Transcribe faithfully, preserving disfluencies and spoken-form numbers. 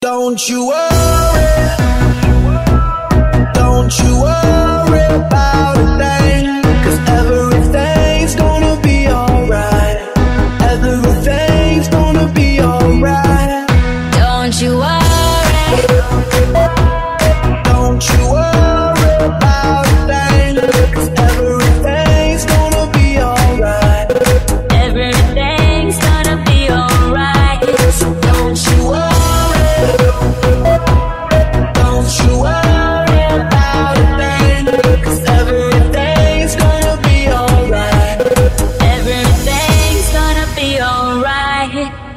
Don't you worry, don't you worry about a thing, 'cause everything's gonna be alright. Everything's gonna be alright. Don't you worry, don't you worry about a thing, 'cause everything's gonna be alright. everything's gonna be alright. So don't you worry, don't you worry about a thing, 'cause everything's gonna be alright. Everything's gonna be alright.